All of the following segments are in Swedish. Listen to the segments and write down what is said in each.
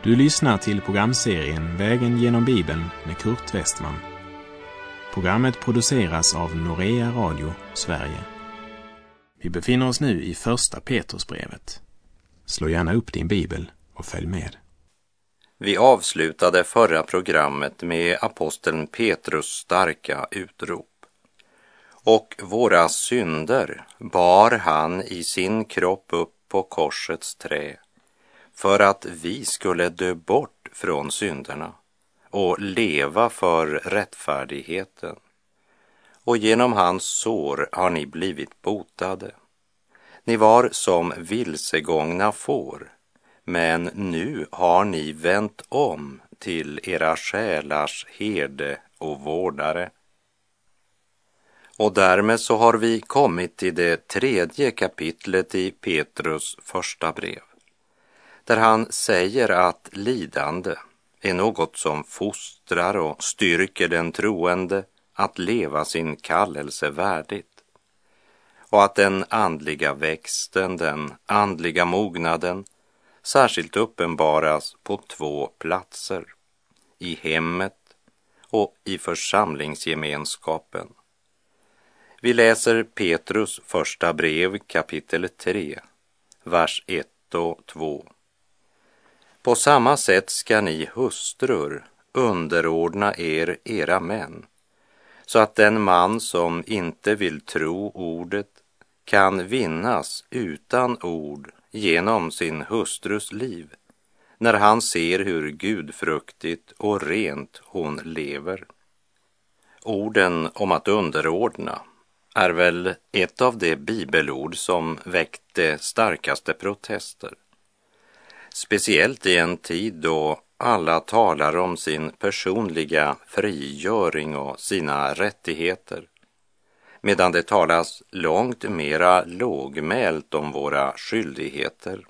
Du lyssnar till programserien Vägen genom Bibeln med Kurt Westman. Programmet produceras av Norea Radio, Sverige. Vi befinner oss nu i första Petrusbrevet. Slå gärna upp din bibel och följ med. Vi avslutade förra programmet med aposteln Petrus starka utrop. Och våra synder bar han i sin kropp upp på korsets trä, för att vi skulle dö bort från synderna och leva för rättfärdigheten. Och genom hans sår har ni blivit botade. Ni var som vilsegångna får, men nu har ni vänt om till era själars herde och vårdare. Och därmed så har vi kommit till det 3:e kapitlet i Petrus första brev, där han säger att lidande är något som fostrar och styrker den troende att leva sin kallelse värdigt, och att den andliga växten, den andliga mognaden, särskilt uppenbaras på 2 platser, i hemmet och i församlingsgemenskapen. Vi läser Petrus första brev kapitel 3, vers 1 och 2. På samma sätt ska ni hustrur underordna era män, så att den man som inte vill tro ordet kan vinnas utan ord genom sin hustrus liv, när han ser hur gudfruktigt och rent hon lever. Orden om att underordna är väl ett av de bibelord som väckte starkaste protester. Speciellt i en tid då alla talar om sin personliga frigöring och sina rättigheter, medan det talas långt mera lågmält om våra skyldigheter.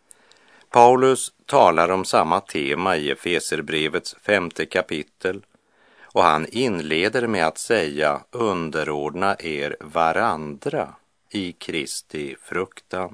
Paulus talar om samma tema i Efeserbrevets 5:e kapitel, och han inleder med att säga: underordna er varandra i Kristi fruktan.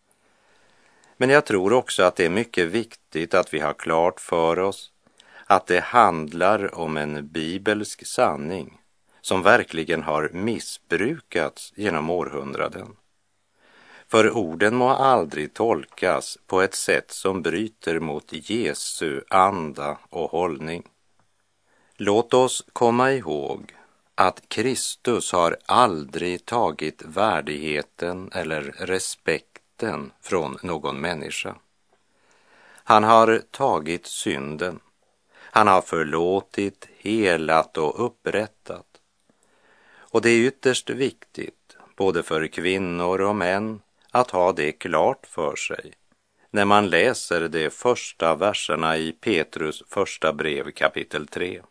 Men jag tror också att det är mycket viktigt att vi har klart för oss att det handlar om en bibelsk sanning som verkligen har missbrukats genom århundraden. För orden må aldrig tolkas på ett sätt som bryter mot Jesu anda och hållning. Låt oss komma ihåg att Kristus har aldrig tagit värdigheten eller respekten från någon människa. Han har tagit synden. Han har förlåtit, helat och upprättat. Och det är ytterst viktigt, både för kvinnor och män, att ha det klart för sig när man läser de första verserna i Petrus första brev kapitel 3.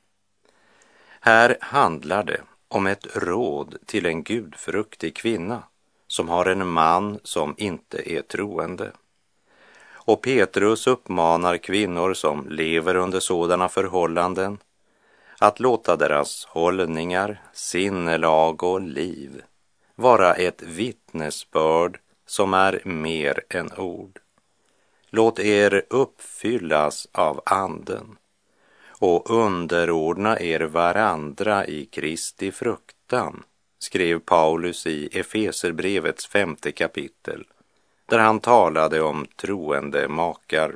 Här handlar det om ett råd till en gudfruktig kvinna som har en man som inte är troende. Och Petrus uppmanar kvinnor som lever under sådana förhållanden att låta deras hållningar, sinnelag och liv vara ett vittnesbörd som är mer än ord. Låt er uppfyllas av anden och underordna er varandra i Kristi fruktan, skrev Paulus i Efeserbrevets 5:e kapitel, där han talade om troende makar.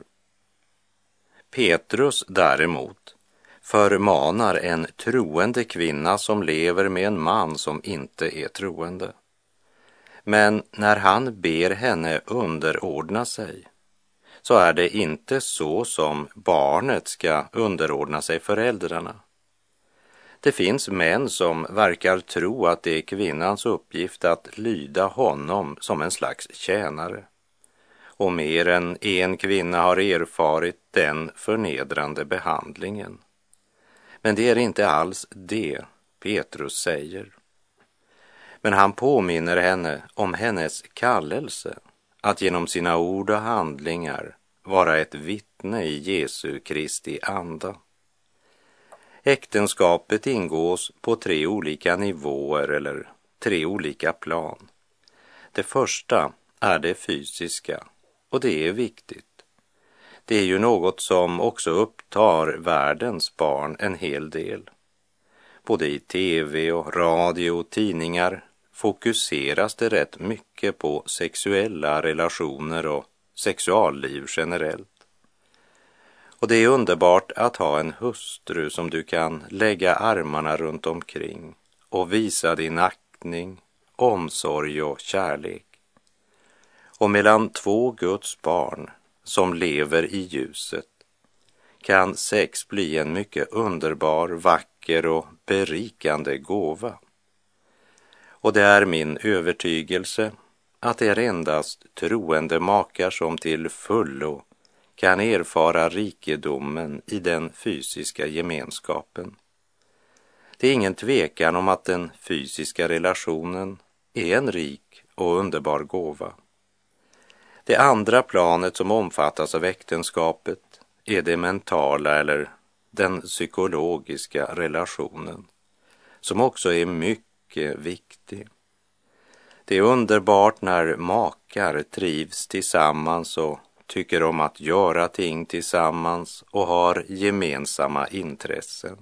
Petrus däremot förmanar en troende kvinna som lever med en man som inte är troende. Men när han ber henne underordna sig, så är det inte så som barnet ska underordna sig föräldrarna. Det finns män som verkar tro att det är kvinnans uppgift att lyda honom som en slags tjänare. Och mer än en kvinna har erfarit den förnedrande behandlingen. Men det är inte alls det Petrus säger. Men han påminner henne om hennes kallelse att genom sina ord och handlingar vara ett vittne i Jesu Kristi anda. Äktenskapet ingås på 3 olika nivåer eller 3 olika plan. Det första är det fysiska, och det är viktigt. Det är ju något som också upptar världens barn en hel del. Både i tv och radio och tidningar fokuseras det rätt mycket på sexuella relationer och sexualliv generellt. Och det är underbart att ha en hustru som du kan lägga armarna runt omkring och visa din aktning, omsorg och kärlek. Och mellan två Guds barn som lever i ljuset kan sex bli en mycket underbar, vacker och berikande gåva. Och det är min övertygelse att det är endast troende makar som till fullo kan erfara rikedomen i den fysiska gemenskapen. Det är ingen tvekan om att den fysiska relationen är en rik och underbar gåva. Det andra planet som omfattas av äktenskapet är det mentala eller den psykologiska relationen, som också är mycket viktig. Det är underbart när makar trivs tillsammans och tycker om att göra ting tillsammans och har gemensamma intressen.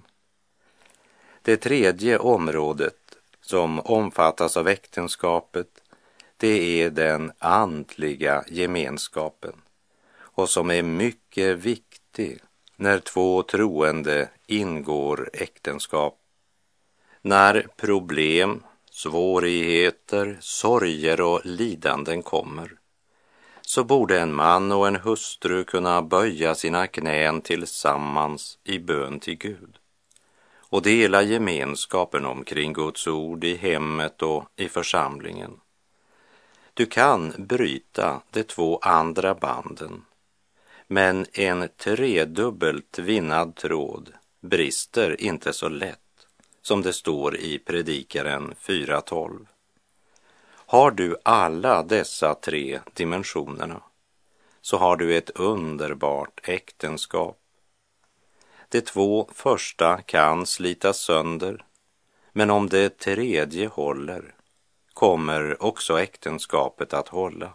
Det tredje området som omfattas av äktenskapet, det är den andliga gemenskapen och som är mycket viktig när två troende ingår äktenskap. När problem, svårigheter, sorger och lidanden kommer, så borde en man och en hustru kunna böja sina knän tillsammans i bön till Gud och dela gemenskapen omkring Guds ord i hemmet och i församlingen. Du kan bryta de två andra banden, men en tredubbelt vinnad tråd brister inte så lätt, som det står i Predikaren 4:12. Har du alla dessa tre dimensionerna, så har du ett underbart äktenskap. De två första kan slitas sönder, men om det tredje håller, kommer också äktenskapet att hålla.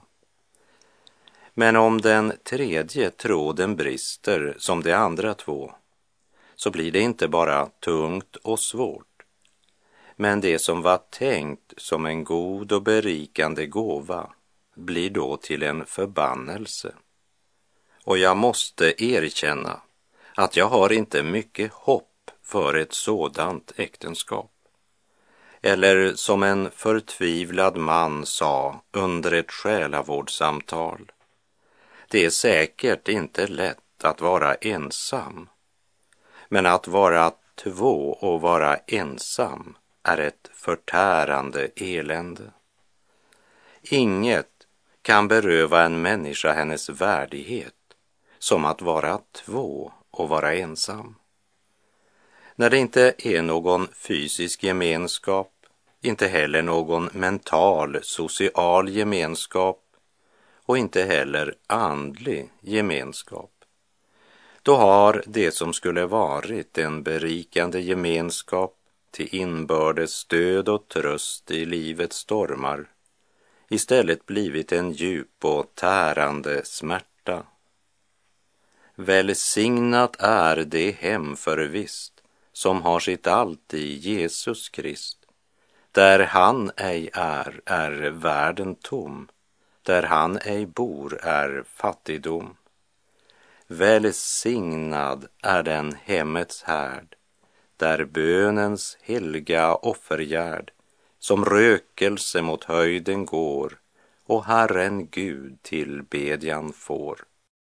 Men om den tredje tråden brister som de andra två, så blir det inte bara tungt och svårt, men det som var tänkt som en god och berikande gåva blir då till en förbannelse. Och jag måste erkänna att jag har inte mycket hopp för ett sådant äktenskap. Eller som en förtvivlad man sa under ett själavårdssamtal: det är säkert inte lätt att vara ensam, men att vara två och vara ensam är ett förtärande elände. Inget kan beröva en människa hennes värdighet som att vara två och vara ensam. När det inte är någon fysisk gemenskap, inte heller någon mental, social gemenskap och inte heller andlig gemenskap, då har det som skulle varit en berikande gemenskap till inbördes stöd och tröst i livets stormar istället blivit en djup och tärande smärta. Välsignat är det hem förvisst som har sitt allt i Jesus Krist. Där han ej är världen tom. Där han ej bor är fattigdom. Välsignad är den hemmets härd, där bönens helga offergärd som rökelse mot höjden går och Herren Gud till bedjan får.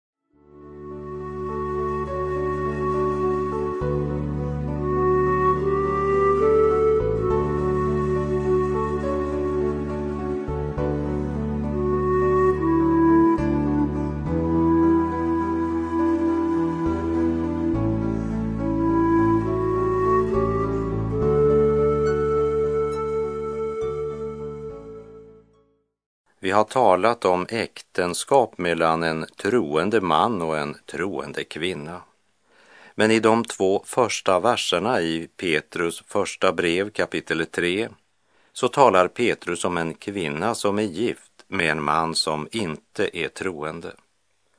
Vi har talat om äktenskap mellan en troende man och en troende kvinna. Men i de 2 första verserna i Petrus första brev kapitel 3 så talar Petrus om en kvinna som är gift med en man som inte är troende.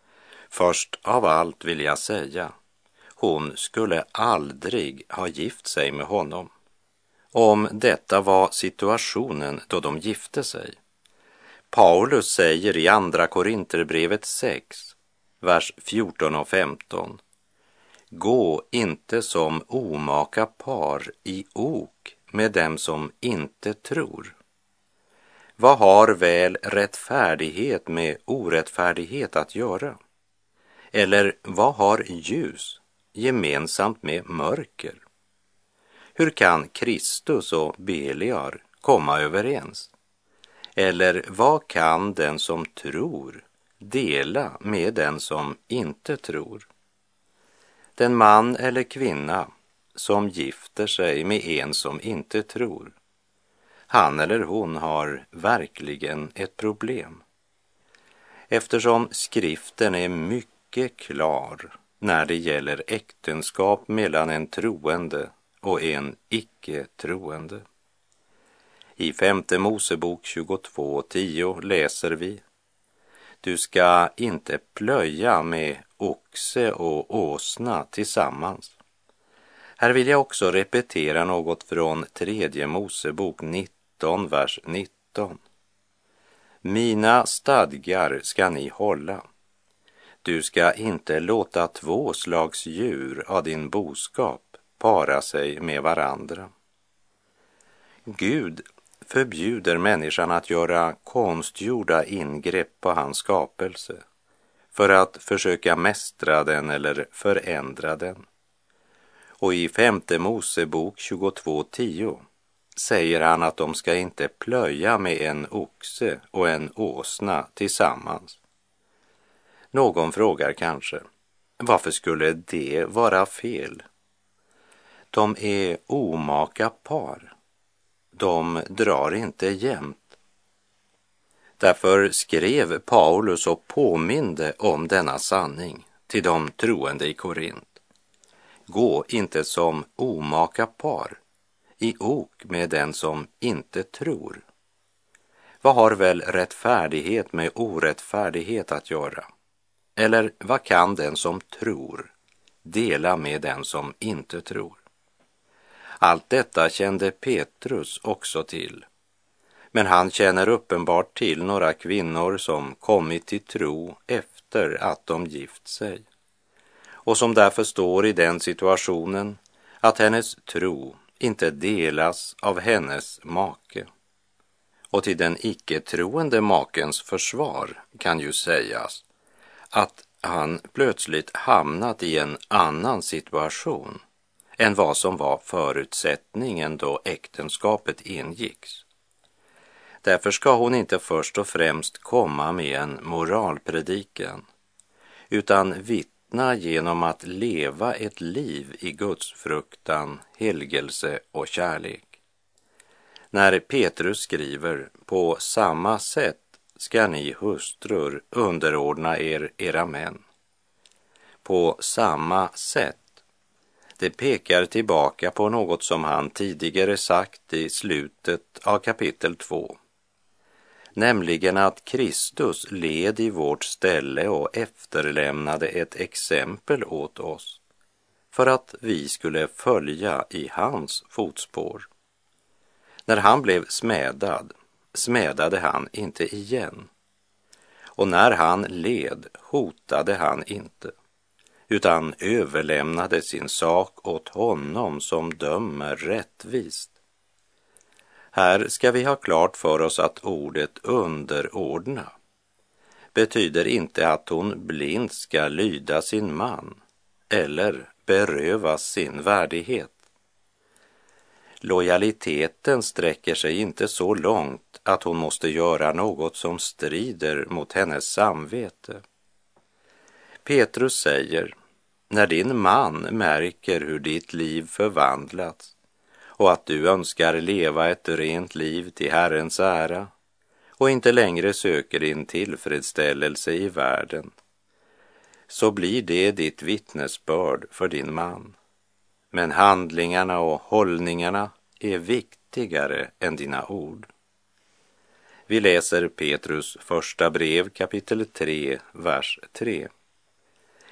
Först av allt vill jag säga, hon skulle aldrig ha gift sig med honom. Om detta var situationen då de gifte sig. Paulus säger i andra Korinterbrevet 6, vers 14 och 15. Gå inte som omaka par i ok med dem som inte tror. Vad har väl rättfärdighet med orättfärdighet att göra? Eller vad har ljus gemensamt med mörker? Hur kan Kristus och Beliar komma överens? Eller vad kan den som tror dela med den som inte tror? Den man eller kvinna som gifter sig med en som inte tror, han eller hon har verkligen ett problem. Eftersom skriften är mycket klar när det gäller äktenskap mellan en troende och en icke-troende. I 5:e Mosebok 22:10 läser vi: Du ska inte plöja med oxe och åsna tillsammans. Här vill jag också repetera något från 3:e Mosebok 19, vers 19. Mina stadgar ska ni hålla. Du ska inte låta två slags djur av din boskap para sig med varandra. Gud förbjuder människan att göra konstgjorda ingrepp på hans skapelse för att försöka mästra den eller förändra den. Och i 5:e Mosebok 22:10 säger han att de ska inte plöja med en oxe och en åsna tillsammans. Någon frågar kanske, varför skulle det vara fel? De är omaka par. De drar inte jämnt. Därför skrev Paulus och påminde om denna sanning till de troende i Korint. Gå inte som omaka par i ok med den som inte tror. Vad har väl rättfärdighet med orättfärdighet att göra? Eller vad kan den som tror dela med den som inte tror? Allt detta kände Petrus också till. Men han känner uppenbart till några kvinnor som kommit till tro efter att de gift sig. Och som därför står i den situationen att hennes tro inte delas av hennes make. Och till den icke-troende makens försvar kan ju sägas att han plötsligt hamnat i en annan situation än vad som var förutsättningen då äktenskapet ingicks. Därför ska hon inte först och främst komma med en moralpredikan, utan vittna genom att leva ett liv i Guds fruktan, helgelse och kärlek. När Petrus skriver, på samma sätt ska ni hustrur underordna er era män. På samma sätt. Det pekar tillbaka på något som han tidigare sagt i slutet av kapitel 2. Nämligen att Kristus led i vårt ställe och efterlämnade ett exempel åt oss för att vi skulle följa i hans fotspår. När han blev smädad, smädade han inte igen. Och när han led, hotade han inte, utan överlämnade sin sak åt honom som dömer rättvist. Här ska vi ha klart för oss att ordet underordna betyder inte att hon blint ska lyda sin man eller berövas sin värdighet. Lojaliteten sträcker sig inte så långt att hon måste göra något som strider mot hennes samvete. Petrus säger, när din man märker hur ditt liv förvandlats och att du önskar leva ett rent liv till Herrens ära och inte längre söker din tillfredsställelse i världen, så blir det ditt vittnesbörd för din man. Men handlingarna och hållningarna är viktigare än dina ord. Vi läser Petrus första brev kapitel 3, vers 3.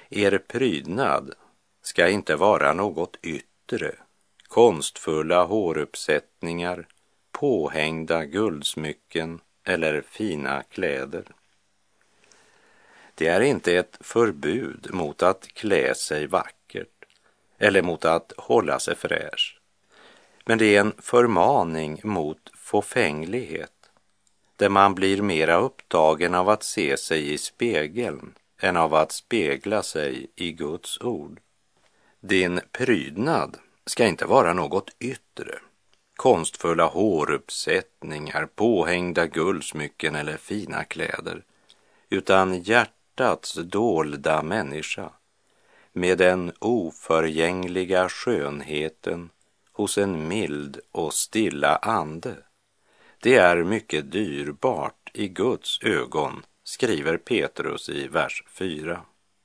Er prydnad ska inte vara något yttre, konstfulla håruppsättningar, påhängda guldsmycken eller fina kläder. Det är inte ett förbud mot att klä sig vackert eller mot att hålla sig fräsch, men det är en förmaning mot fåfänglighet, där man blir mera upptagen av att se sig i spegeln än av att spegla sig i Guds ord. Din prydnad ska inte vara något yttre, konstfulla håruppsättningar, påhängda guldsmycken eller fina kläder, utan hjärtats dolda människa med den oförgängliga skönheten hos en mild och stilla ande. Det är mycket dyrbart i Guds ögon, skriver Petrus i vers 4.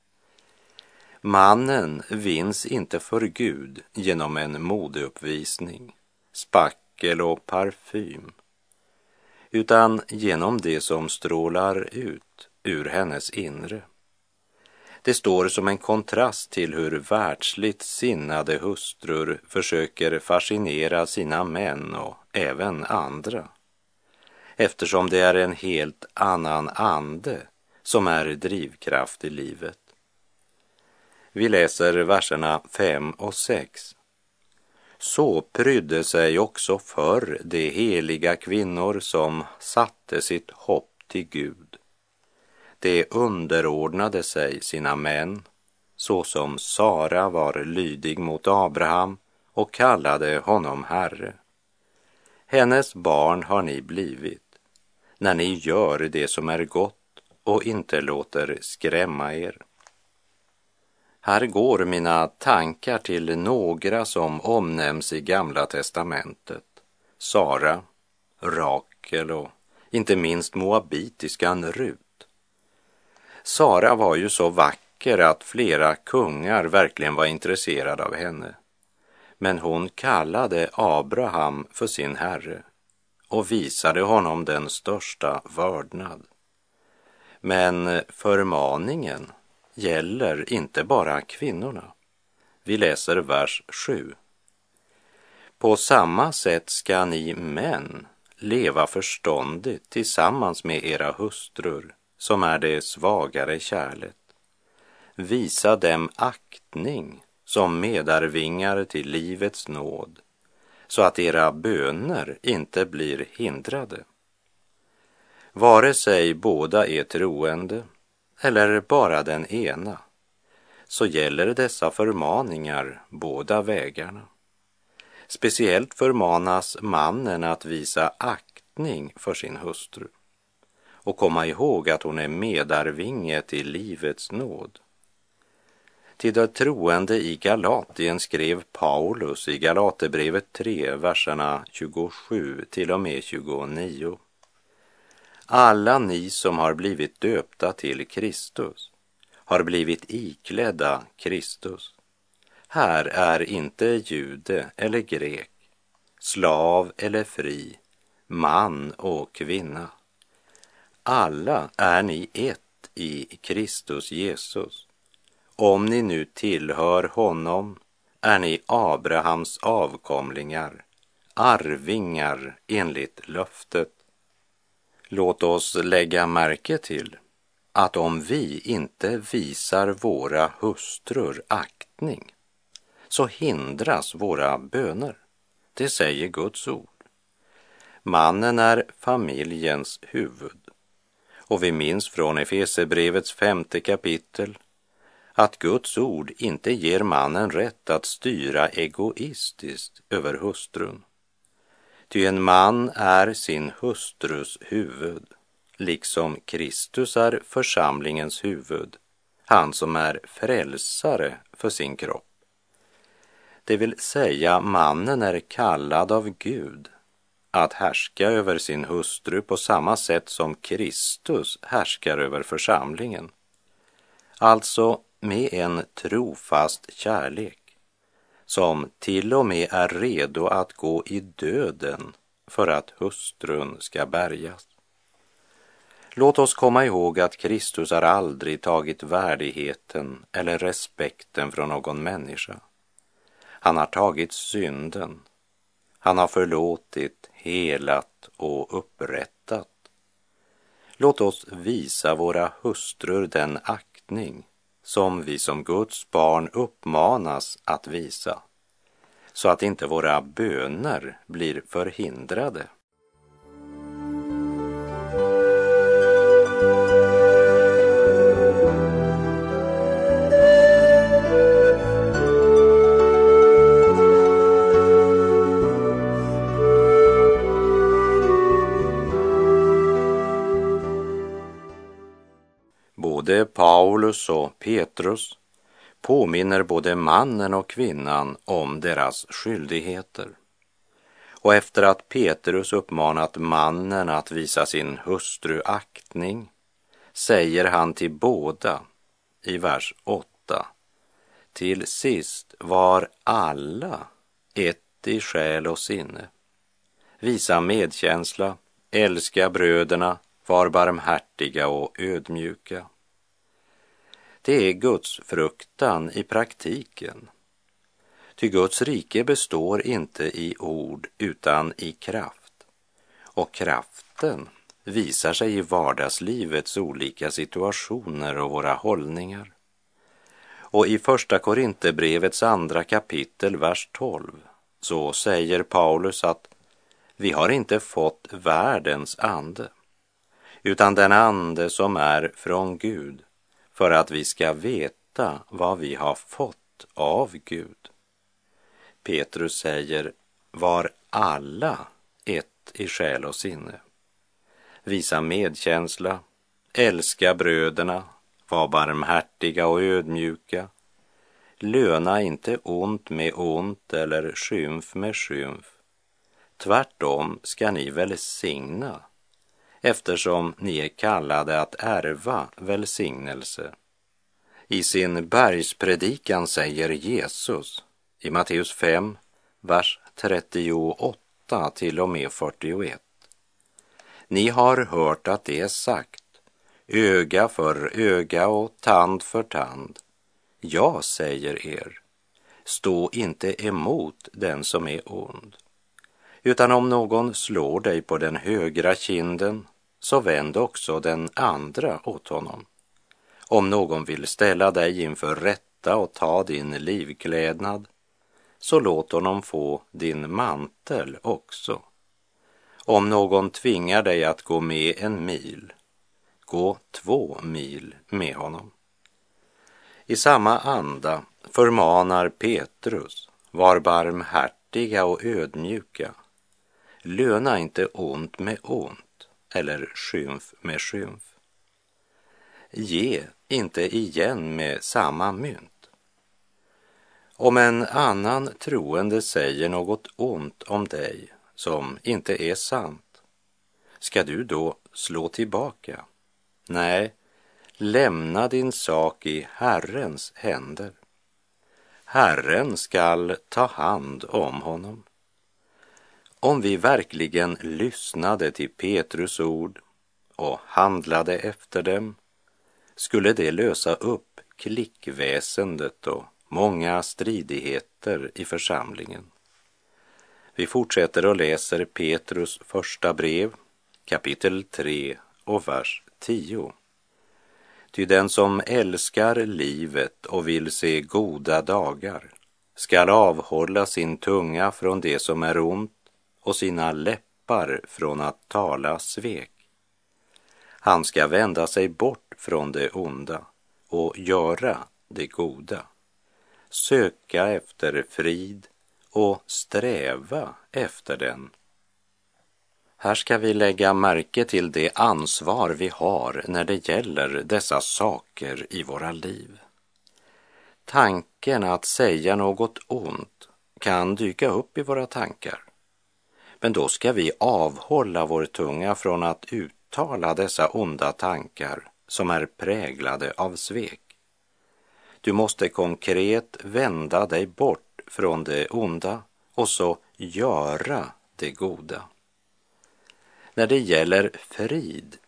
Mannen vinns inte för Gud genom en modeuppvisning, spackel och parfym, utan genom det som strålar ut ur hennes inre. Det står som en kontrast till hur världsligt sinnade hustrur försöker fascinera sina män och även andra, eftersom det är en helt annan ande som är drivkraft i livet. Vi läser verserna 5 och 6. Så prydde sig också förr de heliga kvinnor som satte sitt hopp till Gud. De underordnade sig sina män, så som Sara var lydig mot Abraham och kallade honom herre. Hennes barn har ni blivit, när ni gör det som är gott och inte låter skrämma er. Här går mina tankar till några som omnämns i Gamla testamentet. Sara, Rakel och inte minst moabitiskan Rut. Sara var ju så vacker att flera kungar verkligen var intresserade av henne. Men hon kallade Abraham för sin herre och visade honom den största vördnad. Men förmaningen gäller inte bara kvinnorna. Vi läser vers 7. På samma sätt ska ni män leva förståndigt tillsammans med era hustrur, som är det svagare kärlet. Visa dem aktning som medarvingar till livets nåd, så att era böner inte blir hindrade. Vare sig båda är troende eller bara den ena, så gäller dessa förmaningar båda vägarna. Speciellt förmanas mannen att visa aktning för sin hustru och komma ihåg att hon är medarvinge till livets nåd. Till de troende i Galatien skrev Paulus i Galaterbrevet 3, verserna 27 till och med 29. Alla ni som har blivit döpta till Kristus har blivit iklädda Kristus. Här är inte jude eller grek, slav eller fri, man och kvinna. Alla är ni ett i Kristus Jesus. Om ni nu tillhör honom är ni Abrahams avkomlingar, arvingar enligt löftet. Låt oss lägga märke till att om vi inte visar våra hustrur aktning, så hindras våra böner. Det säger Guds ord. Mannen är familjens huvud. Och vi minns från Efeserbrevets 5:e kapitel att Guds ord inte ger mannen rätt att styra egoistiskt över hustrun. Ty en man är sin hustrus huvud, liksom Kristus är församlingens huvud, han som är frälsare för sin kropp. Det vill säga, mannen är kallad av Gud att härska över sin hustru på samma sätt som Kristus härskar över församlingen. Alltså med en trofast kärlek som till och med är redo att gå i döden för att hustrun ska bärgas. Låt oss komma ihåg att Kristus har aldrig tagit värdigheten eller respekten från någon människa. Han har tagit synden. Han har förlåtit, helat och upprättat. Låt oss visa våra hustrur den aktning som vi som Guds barn uppmanas att visa, så att inte våra böner blir förhindrade. Både Paulus och Petrus påminner både mannen och kvinnan om deras skyldigheter. Och efter att Petrus uppmanat mannen att visa sin hustru aktning, säger han till båda i vers 8: till sist var alla ett i själ och sinne. Visa medkänsla, älska bröderna, var barmhärtiga och ödmjuka. Det är Guds fruktan i praktiken. Ty Guds rike består inte i ord utan i kraft. Och kraften visar sig i vardagslivets olika situationer och våra hållningar. Och i första Korinthierbrevets 2 kapitel, vers 12, så säger Paulus att vi har inte fått världens ande, utan den ande som är från Gud, för att vi ska veta vad vi har fått av Gud. Petrus säger, var alla ett i själ och sinne. Visa medkänsla, älska bröderna, var barmhärtiga och ödmjuka. Löna inte ont med ont eller skymf med skymf. Tvärtom ska ni välsigna, eftersom ni är kallade att ärva välsignelse. I sin bergspredikan säger Jesus i Matteus 5, vers 38 till och med 41. Ni har hört att det är sagt, öga för öga och tand för tand. Jag säger er, stå inte emot den som är ond. Utan om någon slår dig på den högra kinden, så vänd också den andra åt honom. Om någon vill ställa dig inför rätta och ta din livklädnad, så låt honom få din mantel också. Om någon tvingar dig att gå med 1 mil, gå 2 mil med honom. I samma anda förmanar Petrus, var barmhärtiga och ödmjuka. Löna inte ont med ont eller skymf med skymf. Ge inte igen med samma mynt. Om en annan troende säger något ont om dig som inte är sant, ska du då slå tillbaka? Nej, lämna din sak i Herrens händer. Herren skall ta hand om honom. Om vi verkligen lyssnade till Petrus ord och handlade efter dem, skulle det lösa upp klickväsendet och många stridigheter i församlingen. Vi fortsätter och läser Petrus första brev, kapitel 3 och vers 10. Ty den som älskar livet och vill se goda dagar skall avhålla sin tunga från det som är ont och sina läppar från att tala svek. Han ska vända sig bort från det onda och göra det goda. Söka efter frid och sträva efter den. Här ska vi lägga märke till det ansvar vi har när det gäller dessa saker i våra liv. Tanken att säga något ont kan dyka upp i våra tankar. Men då ska vi avhålla vår tunga från att uttala dessa onda tankar som är präglade av svek. Du måste konkret vända dig bort från det onda och så göra det goda. När det gäller frid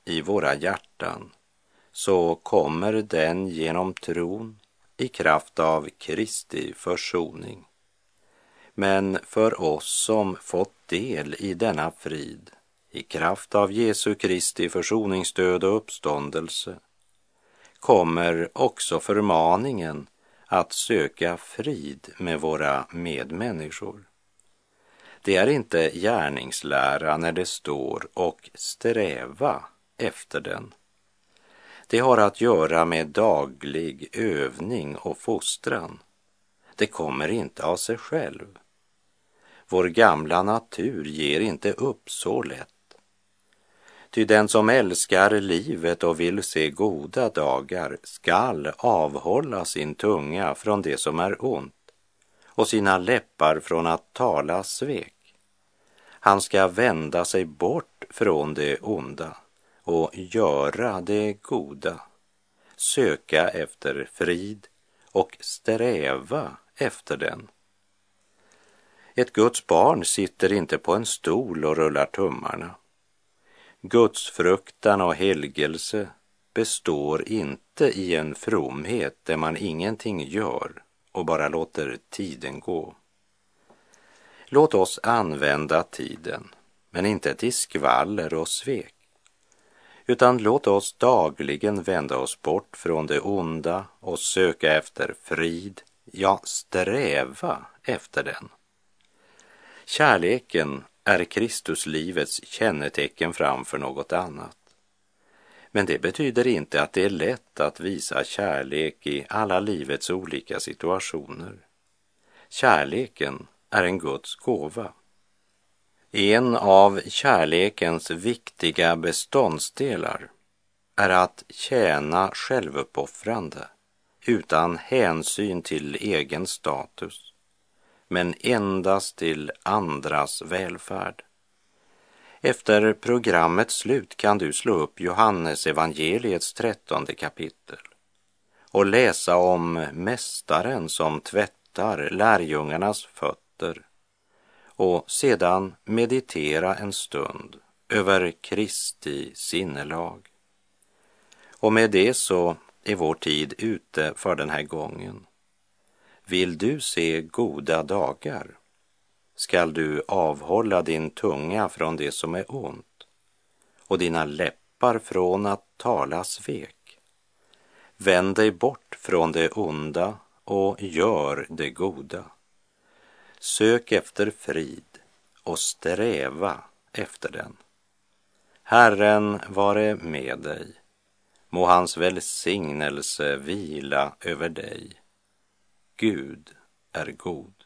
i våra hjärtan, så kommer den genom tron i kraft av Kristi försoning. Men för oss som fått del i denna frid, i kraft av Jesu Kristi försoningsdöd och uppståndelse, kommer också förmaningen att söka frid med våra medmänniskor. Det är inte gärningslära när det står och sträva efter den. Det har att göra med daglig övning och fostran. Det kommer inte av sig själv. Vår gamla natur ger inte upp så lätt. Ty den som älskar livet och vill se goda dagar skall avhålla sin tunga från det som är ont och sina läppar från att tala svek. Han ska vända sig bort från det onda och göra det goda, söka efter frid och sträva efter den. Ett Guds barn sitter inte på en stol och rullar tummarna. Guds fruktan och helgelse består inte i en fromhet där man ingenting gör och bara låter tiden gå. Låt oss använda tiden, men inte till skvaller och svek, utan låt oss dagligen vända oss bort från det onda och söka efter frid, ja, sträva efter den. Kärleken är Kristuslivets kännetecken framför något annat. Men det betyder inte att det är lätt att visa kärlek i alla livets olika situationer. Kärleken är en Guds gåva. En av kärlekens viktiga beståndsdelar är att tjäna självuppoffrande utan hänsyn till egen status, men endast till andras välfärd. Efter programmets slut kan du slå upp Johannes evangeliets 13:e kapitel och läsa om mästaren som tvättar lärjungarnas fötter och sedan meditera en stund över Kristi sinnelag. Och med det så är vår tid ute för den här gången. Vill du se goda dagar? Skall du avhålla din tunga från det som är ont och dina läppar från att tala svek? Vänd dig bort från det onda och gör det goda. Sök efter frid och sträva efter den. Herren vare med dig. Må hans välsignelse vila över dig. Gud är god.